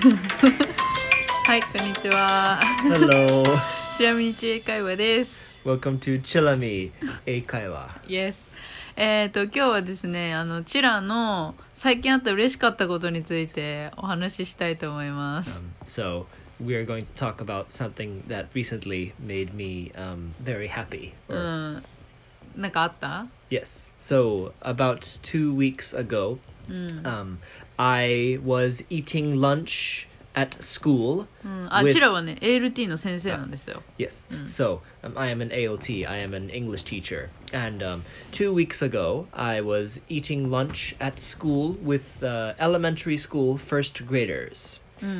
はい、こんにちは。 Hello. ちなみに知恵会話です。 Welcome to Chillami 英会話 Yes。今日はですね、チラの最近あった嬉しかったことについてお話ししたいと思います。 So we are going to talk about something that recently made me very happy. なんかあった？ Yes. So about 2 weeks ago, I was eating lunch at school. チラはね、ALT の先生なんですよ。 Yes. So I am an ALT. I am an English teacher. And 2 weeks ago, I was eating lunch at school with elementary school first graders.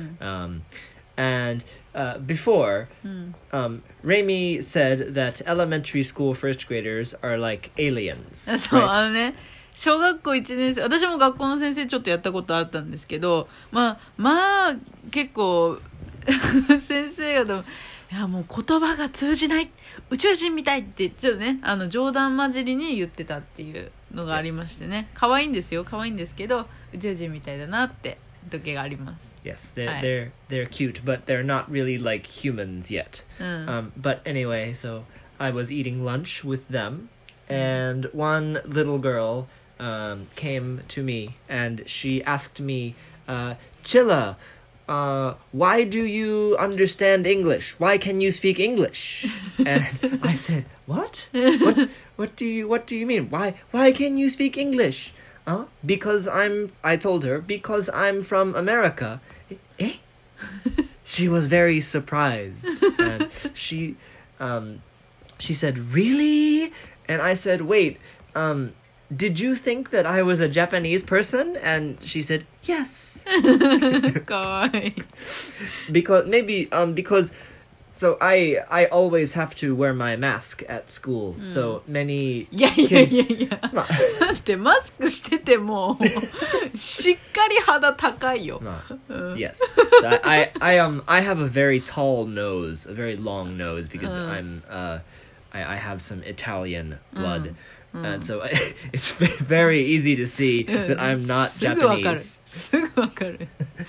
And before, Remy said that elementary school first graders are like aliens. そう、 right? 小学校1年生、私も学校の先生ちょっとやったことあったんですけど、まあ結構先生がいやもう言葉が通じない宇宙人みたいってちょっとね冗談交じりに言ってたっていうのがありましてね、可愛いんですよ、可愛いんですけど宇宙人みたいだなって時があります。 Yes, they're cute, but they're not really like humans yet. But anyway, so I was eating lunch with them, and one little girl came to me, and she asked me, Chilla, why do you understand English? Why can you speak English? And I said, what? What do you mean? Why can you speak English? Because I told her, because I'm from America. Eh? She was very surprised. And she said, really? And I said, wait, did you think that I was a Japanese person? And she said, yes. かわいい。 Because so I always have to wear my mask at school. So many いや kids だってマスクしててもしっかり肌高いよ。 Yes. So I have a very tall nose, a very long nose because I have some Italian blood. And so it's very easy to see that I'm not すぐわかる。 Japanese. すぐわかる。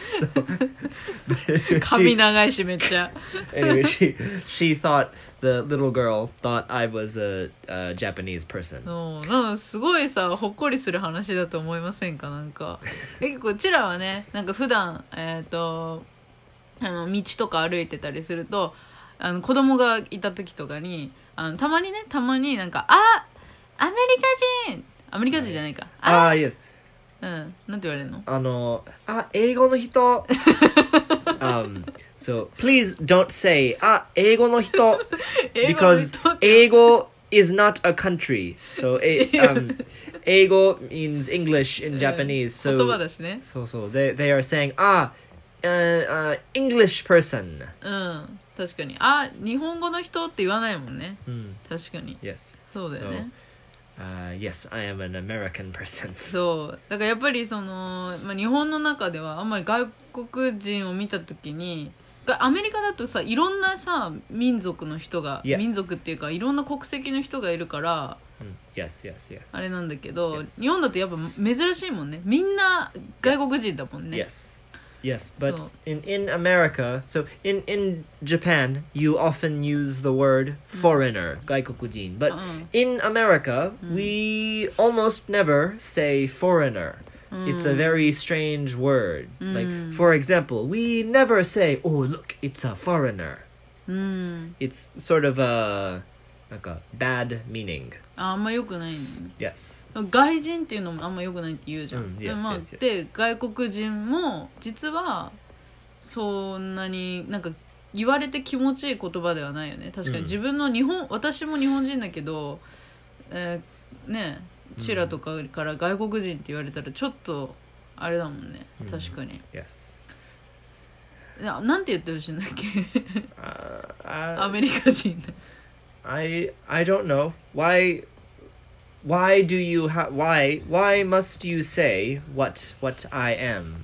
So, 髪長いしめっちゃ。 anyway, she thought the little girl thought I was a Japanese person. なんかすごいさほっこりする話だと思いませんか？なんか結構うちらはね、なんか普段道とか歩いてたりすると子供がいた時とかにたまになんかアメリカ人じゃないか。 Yes. なんて言われるの？ 英語の人。So please don't say 英語の人 because 英語 is not a country. So 英語 means English in Japanese. 言葉だしね。 So they are saying English person. 確かに日本語の人って言わないもんね。確かに。 Yes. そうだよね。 Yes, I am an American person. そうだからやっぱり日本の中ではあんまり外国人を見た時にアメリカだとさいろんなさ民族の人が、 Yes. 民族っていうかいろんな国籍の人がいるから Yes. あれなんだけど、 Yes. 日本だとやっぱ珍しいもんね。みんな外国人だもんね。 Yes, but So- in America, so in Japan, you often use the word foreigner, 外国人. But in America, we almost never say foreigner. It's a very strange word. Like, for example, we never say, oh, look, it's a foreigner. It's sort of like a bad meaning. あんま良くないの。 Yes. 外人っていうのもあんま良くないって言うじゃん。 Yes, でまあ yes. で外国人も実はそんなになんか言われて気持ちいい言葉ではないよね。確かに自分の私も日本人だけど、ねチラとかから外国人って言われたらちょっとあれだもんね。確かに。 Yes. なんて言ってほしいんだっけ？ ア I メリカ人。 don't know. Why do you why must you say what I am?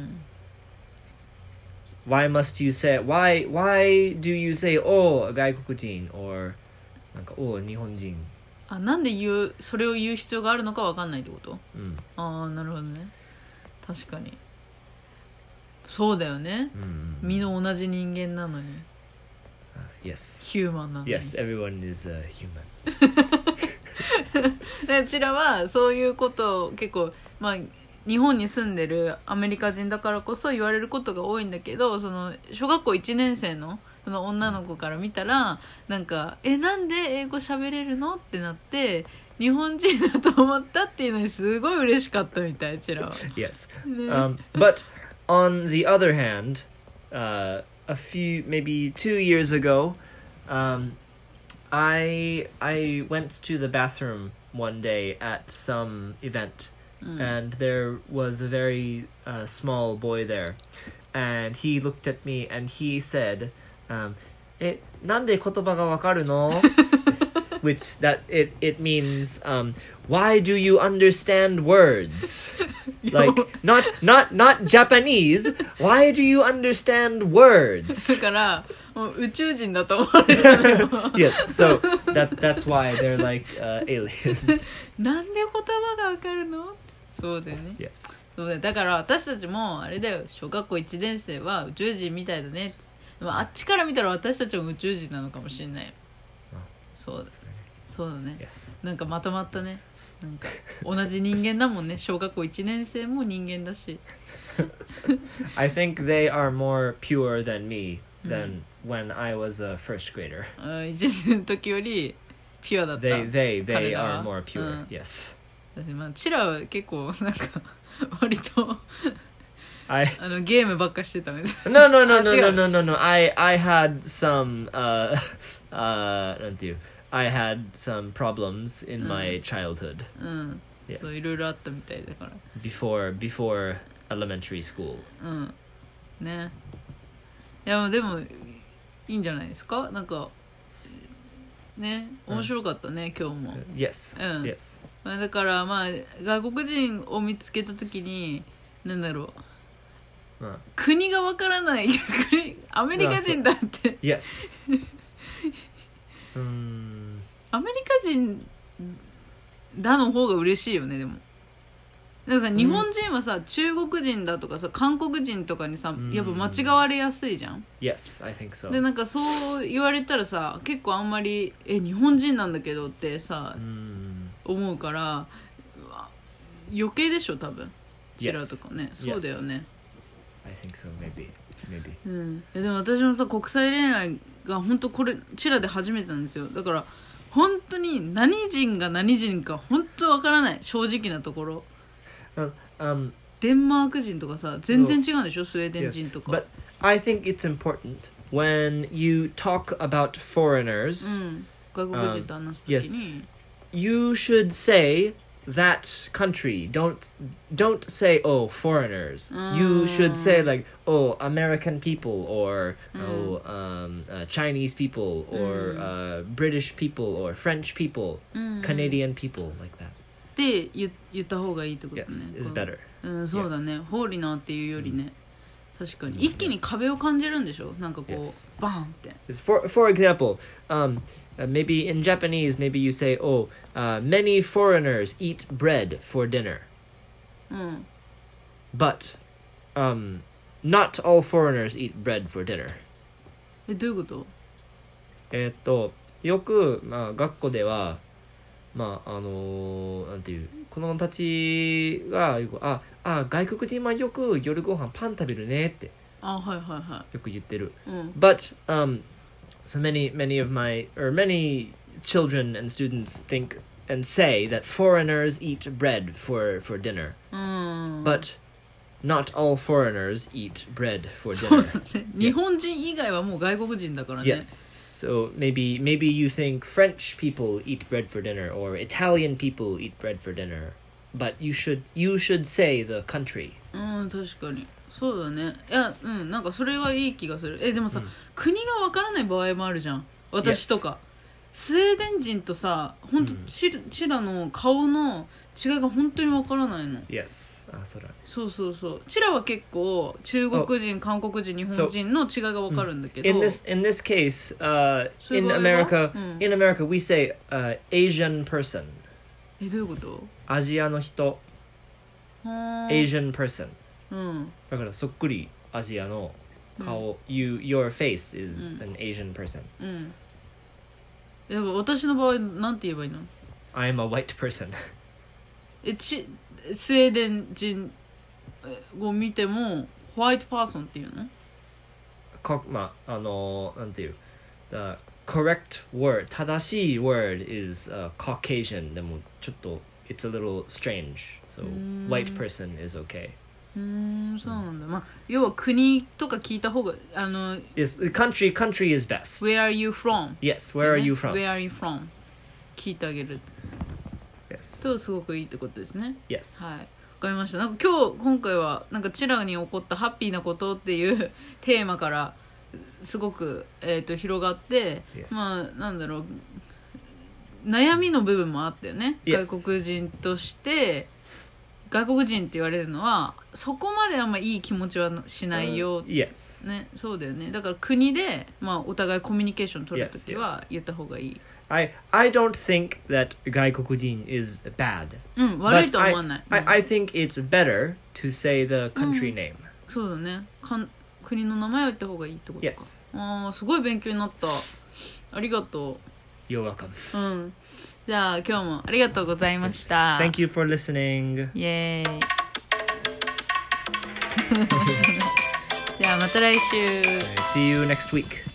Why must you say why do you say 外国人 or なんか日本人。 なんでそれを言う必要があるのか分かんないってこと？なるほどね。確かに。 そうだよね、 うん、 みんな同じ人間なのに、 yes ヒューマンなのに。 yes everyone is human でちらはそういうことを結構、まあ、日本に住んでるアメリカ人だからこそ言われることが多いんだけど、その小学校1年生のその女の子から見たらなんかなんで英語喋れるのってなって日本人だと思ったっていうのにすごい嬉しかったみたい、ちらは。 yes ね but on the other hand a few maybe 2 years ago I went to the bathroom one day at some event, and there was a very small boy there, and he looked at me and he said, なんで言葉がわかるの? Which that it means why do you understand words? Like not Japanese. Why do you understand words? だからもう宇宙人だと思われたのよ。 Yes, so that's why they're like aliens. なんで言葉がわかるの？そうだよね。 Yes. そうだよ。だから私たちもあれだよ、小学校1年生は宇宙人みたいだね。でもあっちから見たら私たちも宇宙人なのかもしれないよ。そうだ。そうだね。 Yes. なんかまとまったね。なんか同じ人間だもんね。小学校1年生も人間だし。 I think they are more pure than me than when I was a first grader. 1年生の時よりピュアだった。 They 彼ら are は more pure. うん Yes. だってまあチラは結構なんか割と I ゲームばっかしてたね。 no no no あ、 no 違 no う no no no. I had someなんていう I had some problems in my childhood. うん。そうい Yes. ろいろあったみたいだから。 Before elementary school. うんね。いやでもいいんじゃないですか。なんかね、面白かったね、今日も。 Yes. うん Yes. まあだからまあ外国人を見つけた時になんだろう、国がわからない逆にアメリカ人だって、 Yes. アメリカ人だの方が嬉しいよね。でもなんかさ、日本人はさ中国人だとかさ韓国人とかにさやっぱ間違われやすいじゃん。 Yes, I think so. でなんかそう言われたらさ結構あんまり日本人なんだけどってさ思うから余計でしょ多分。チラとかね、そうだよね。 I think so, maybe. うん、でも私もさ国際恋愛が本当これチラで初めてなんですよ。だから本当に何人が何人か本当わからない、正直なところ。デンマーク人とかさ全然違うんでしょ、スウェーデン人とか。 But I think it's important when you talk about foreigners, 外国人と話すときに、 you should say that country. Don't say oh foreigners. You should say like oh American people or Chinese people or British people or French people, Canadian people like that. で言った方がいいってことね。 Yes, is better. そうだね。ホーリナーっていうよりね、確かに一気に壁を感じるんでしょ。なんかこう、 Yes. バーンって。 For example, maybe in Japanese, maybe you say, "Oh, many foreigners eat bread for dinner," but not all foreigners eat bread for dinner. どういうこと？ よく学校ではなんていう子供たちがよく外国人はよく夜ご飯パン食べるねってはいはいはよく言ってる。 い。 But so many children and students think and say that foreigners eat bread for dinner. But not all foreigners eat bread for そう dinner. だね。日本人以外はもう外国人だからね。 Yes. So maybe you think French people eat bread for dinner or Italian people eat bread for dinner. But you should say the country. 確かにそうだね。いやなんかそれがいい気がする。でもさ、国がわからない場合もあるじゃん。私とか、スウェーデン人とさ本当チラの顔の違いが本当にわからないの。 Yes. そうチラは結構中国人、韓国人、日本人の違いがわかるんだけど、 In this case, in America we say Asian person. どういうこと？ アジアの人 Asian person. だからそっくりアジアの顔、your face is an Asian person、 うん。でも私の場合なんて言えばいいの？ I'm a white person スウェーデン人を見てもホワイトパーソンっていうの？ まあなんていう The correct word 正しい word is、Caucasian でもちょっと it's a little strange so white person is okay そうなんだ、まあ、要は国とか聞いた方が yes, country is best Where are you from? Yes, where are you from? Where are you from? 聞いてあげる Yes とすごくいいってことですね Yes はい、わかりました。なんか今回はなんかチラに起こったハッピーなことっていうテーマからすごく、広がって、 Yes. まあなんだろう悩みの部分もあったよね、 Yes. 外国人として外国人って言われるのはそこまであんまいい気持ちはしないよ、 Yes ね、そうだよね。だから国で、まあ、お互いコミュニケーション取るときは言った方がいい。 I don't think that 外国人 is bad 悪いとは思わない。 I think it's better to say the country name そうだね。国の名前を言った方がいいってことか。 Yes ああ、すごい勉強になった。ありがとう。You're welcome。 じゃあ今日もありがとうございました。 Thank you for listening。 イエーイ。じゃあまた来週。 See you next week。